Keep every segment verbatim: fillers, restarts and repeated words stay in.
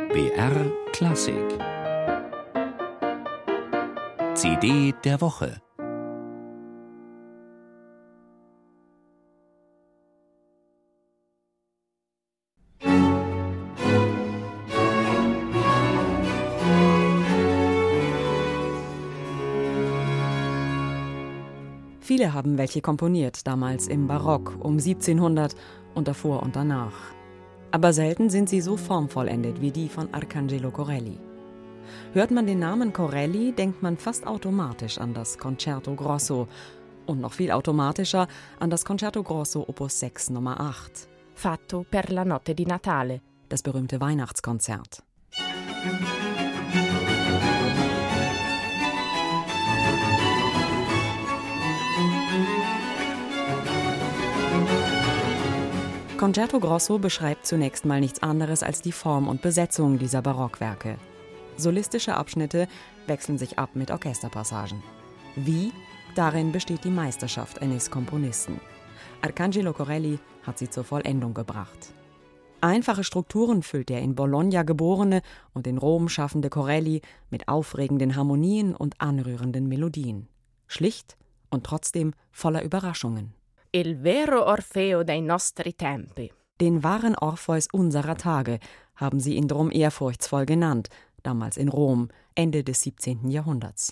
B R Klassik C D der Woche. Viele haben welche komponiert, damals im Barock, um siebzehnhundert und davor und danach. Aber selten sind sie so formvollendet wie die von Arcangelo Corelli. Hört man den Namen Corelli, denkt man fast automatisch an das Concerto Grosso und noch viel automatischer an das Concerto Grosso Opus sechs Nummer acht. Fatto per la notte di Natale, das berühmte Weihnachtskonzert. Concerto Grosso beschreibt zunächst mal nichts anderes als die Form und Besetzung dieser Barockwerke. Solistische Abschnitte wechseln sich ab mit Orchesterpassagen. Wie? Darin besteht die Meisterschaft eines Komponisten. Arcangelo Corelli hat sie zur Vollendung gebracht. Einfache Strukturen füllt der in Bologna geborene und in Rom schaffende Corelli mit aufregenden Harmonien und anrührenden Melodien. Schlicht und trotzdem voller Überraschungen. Il vero Orfeo dei nostri tempi. Den wahren Orpheus unserer Tage haben sie ihn drum ehrfurchtsvoll genannt, damals in Rom, Ende des siebzehnten Jahrhunderts.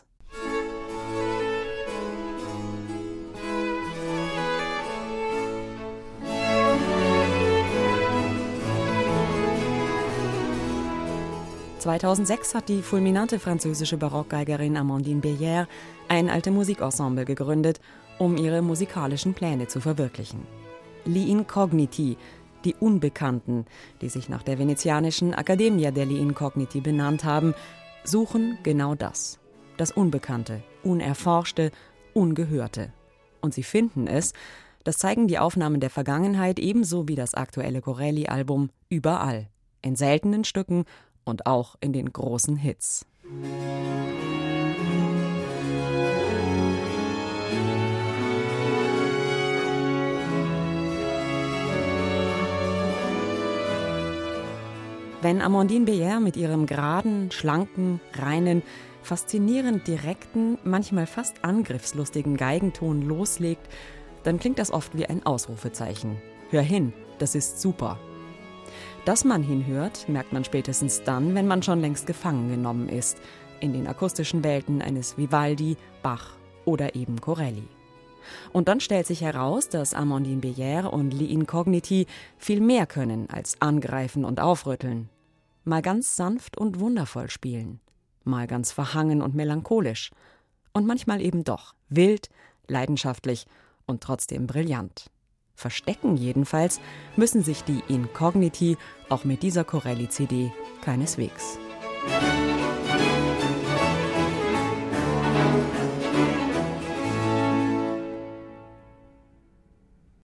zweitausendsechs hat die fulminante französische Barockgeigerin Amandine Bélier ein alte Musikensemble gegründet, um ihre musikalischen Pläne zu verwirklichen. Gli Incogniti, die Unbekannten, die sich nach der venezianischen Accademia degli Incogniti benannt haben, suchen genau das. Das Unbekannte, Unerforschte, Ungehörte. Und sie finden es, das zeigen die Aufnahmen der Vergangenheit ebenso wie das aktuelle Corelli-Album, überall. In seltenen Stücken und auch in den großen Hits. Wenn Amandine Bélier mit ihrem geraden, schlanken, reinen, faszinierend direkten, manchmal fast angriffslustigen Geigenton loslegt, dann klingt das oft wie ein Ausrufezeichen. Hör hin, das ist super. Dass man hinhört, merkt man spätestens dann, wenn man schon längst gefangen genommen ist, in den akustischen Welten eines Vivaldi, Bach oder eben Corelli. Und dann stellt sich heraus, dass Amandine Bélier und Gli Incogniti viel mehr können als angreifen und aufrütteln. Mal ganz sanft und wundervoll spielen, mal ganz verhangen und melancholisch und manchmal eben doch wild, leidenschaftlich und trotzdem brillant. Verstecken jedenfalls müssen sich die Incogniti auch mit dieser Corelli-C D keineswegs.